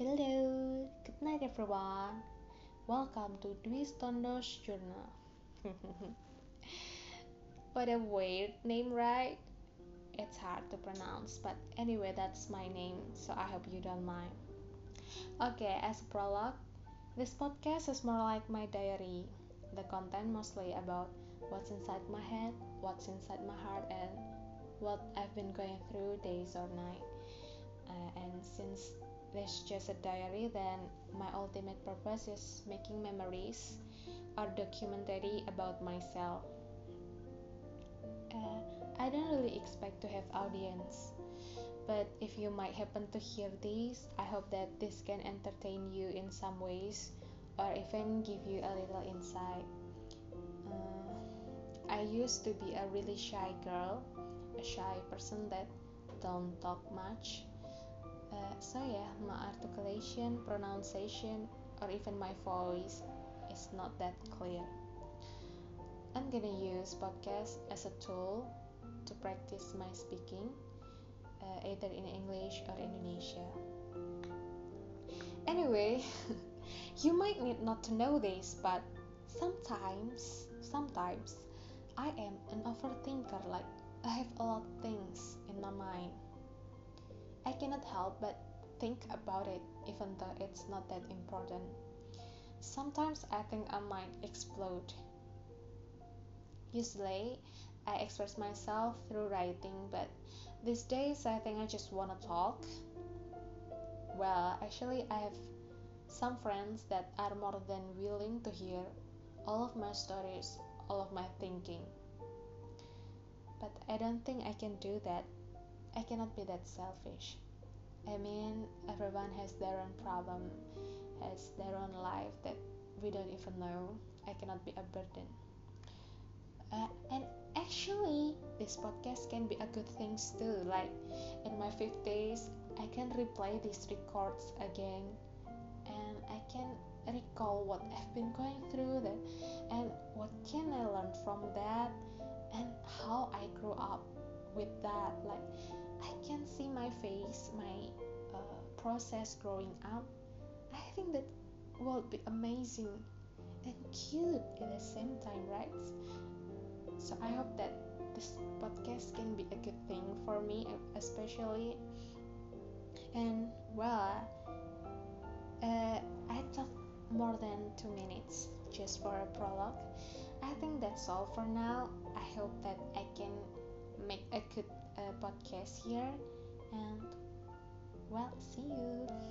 Hello, good night everyone. Welcome to Dwi Stondo's Journal. What a weird name, right? It's hard to pronounce, but anyway, that's my name, so I hope you don't mind. Okay, as a prologue, this podcast is more like my diary. The content mostly about what's inside my head, what's inside my heart, and what I've been going through days or night. And since this is just a diary, then my ultimate purpose is making memories or documentary about myself. Uh, I don't really expect to have audience, but if you might happen to hear this, I hope that this can entertain you in some ways or even give you a little insight. I used to be a really shy girl, a shy person that don't talk much. So yeah, my articulation, pronunciation, or even my voice is not that clear. I'm gonna use podcast as a tool to practice my speaking, either in English or Indonesia. Anyway, you might need not to know this, but sometimes I am an overthinker. Like I have a lot of things in my mind. I cannot help but think about it, even though it's not that important. Sometimes I think I might explode. Usually, I express myself through writing, but these days I think I just wanna talk. Well, actually, I have some friends that are more than willing to hear all of my stories, all of my thinking. But I don't think I can do that. I cannot be that selfish. I mean, everyone has their own problem, has their own life that we don't even know. I cannot be a burden. And actually, this podcast can be a good thing too. Like in my 50s, I can replay these records again, and I can recall what I've been going through that, and what can I learn from that, and how I grew up with that. Like I can see my face, my process growing up. I think that will be amazing and cute at the same time, right? So I hope that this podcast can be a good thing for me, especially. And well, I talked more than 2 minutes just for a prologue. I think that's all for now. I hope that I can make a good podcast here. And well, see you.